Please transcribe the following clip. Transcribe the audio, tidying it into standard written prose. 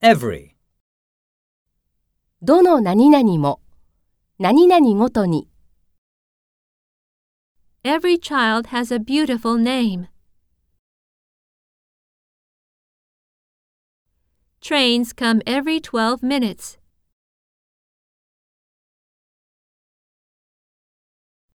every, どの何々も、何々ごとに。 Every child has a beautiful name. Trains come every 12 minutes.